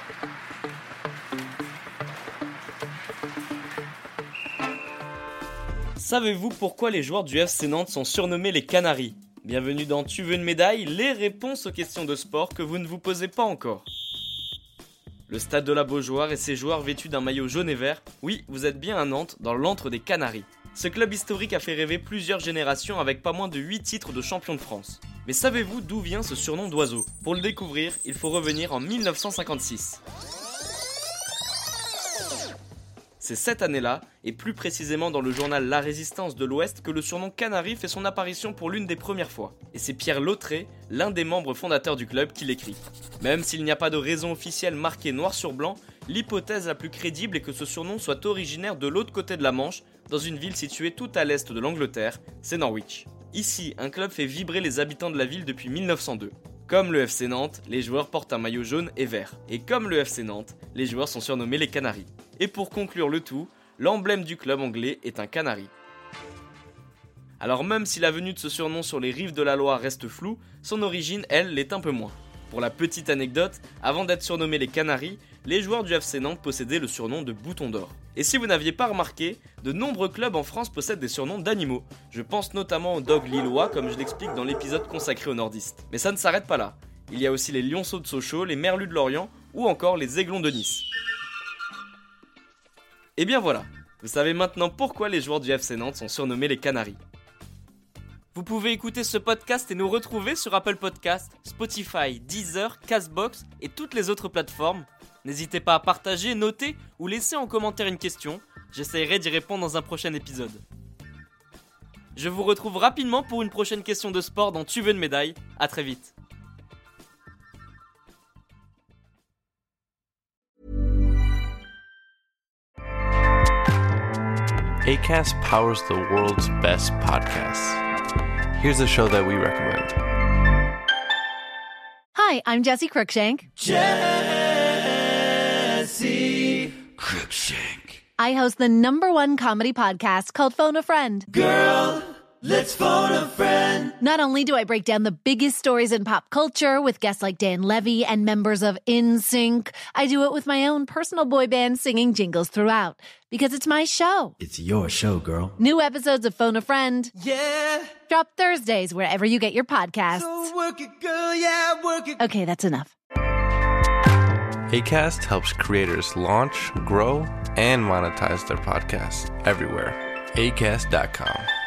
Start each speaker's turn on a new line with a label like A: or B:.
A: Savez-vous pourquoi les joueurs du FC Nantes sont surnommés les Canaries ? Bienvenue dans Tu veux une médaille ? Les réponses aux questions de sport que vous ne vous posez pas encore. Le stade de la Beaujoire et ses joueurs vêtus d'un maillot jaune et vert, oui, vous êtes bien à Nantes, dans l'antre des Canaries. Ce club historique a fait rêver plusieurs générations avec pas moins de 8 titres de champion de France. Mais savez-vous d'où vient ce surnom d'oiseau ? Pour le découvrir, il faut revenir en 1956. C'est cette année-là, et plus précisément dans le journal La Résistance de l'Ouest, que le surnom Canari fait son apparition pour l'une des premières fois. Et c'est Pierre Lautré, l'un des membres fondateurs du club, qui l'écrit. Même s'il n'y a pas de raison officielle marquée noir sur blanc, l'hypothèse la plus crédible est que ce surnom soit originaire de l'autre côté de la Manche, dans une ville située tout à l'est de l'Angleterre, c'est Norwich. Ici, un club fait vibrer les habitants de la ville depuis 1902. Comme le FC Nantes, les joueurs portent un maillot jaune et vert. Et comme le FC Nantes, les joueurs sont surnommés les Canaries. Et pour conclure le tout, l'emblème du club anglais est un canari. Alors même si la venue de ce surnom sur les rives de la Loire reste floue, son origine, elle, l'est un peu moins. Pour la petite anecdote, avant d'être surnommés les Canaries, les joueurs du FC Nantes possédaient le surnom de Bouton d'Or. Et si vous n'aviez pas remarqué, de nombreux clubs en France possèdent des surnoms d'animaux. Je pense notamment aux dogs lillois, comme je l'explique dans l'épisode consacré aux nordistes. Mais ça ne s'arrête pas là. Il y a aussi les lionceaux de Sochaux, les merlus de Lorient, ou encore les aiglons de Nice. Et bien voilà, vous savez maintenant pourquoi les joueurs du FC Nantes sont surnommés les Canaries. Vous pouvez écouter ce podcast et nous retrouver sur Apple Podcasts, Spotify, Deezer, Castbox et toutes les autres plateformes. N'hésitez pas à partager, noter ou laisser en commentaire une question. J'essaierai d'y répondre dans un prochain épisode. Je vous retrouve rapidement pour une prochaine question de sport dans Tu veux une médaille. À très vite.
B: Acast powers the world's best podcasts. Here's a show that we recommend.
C: Hi, I'm Jessie Cruikshank.
D: Jessie Cruikshank.
C: I host the #1 comedy podcast called Phone a Friend.
D: Girl, let's phone a friend.
C: Not only do I break down the biggest stories in pop culture with guests like Dan Levy and members of NSYNC, I do it with my own personal boy band singing jingles throughout. Because it's my show.
D: It's your show, girl.
C: New episodes of Phone a Friend
D: Yeah.
C: drop Thursdays wherever you get your podcasts.
D: So work it, girl, yeah, work it.
C: Okay, that's enough.
B: Acast helps creators launch, grow, and monetize their podcasts everywhere. Acast.com.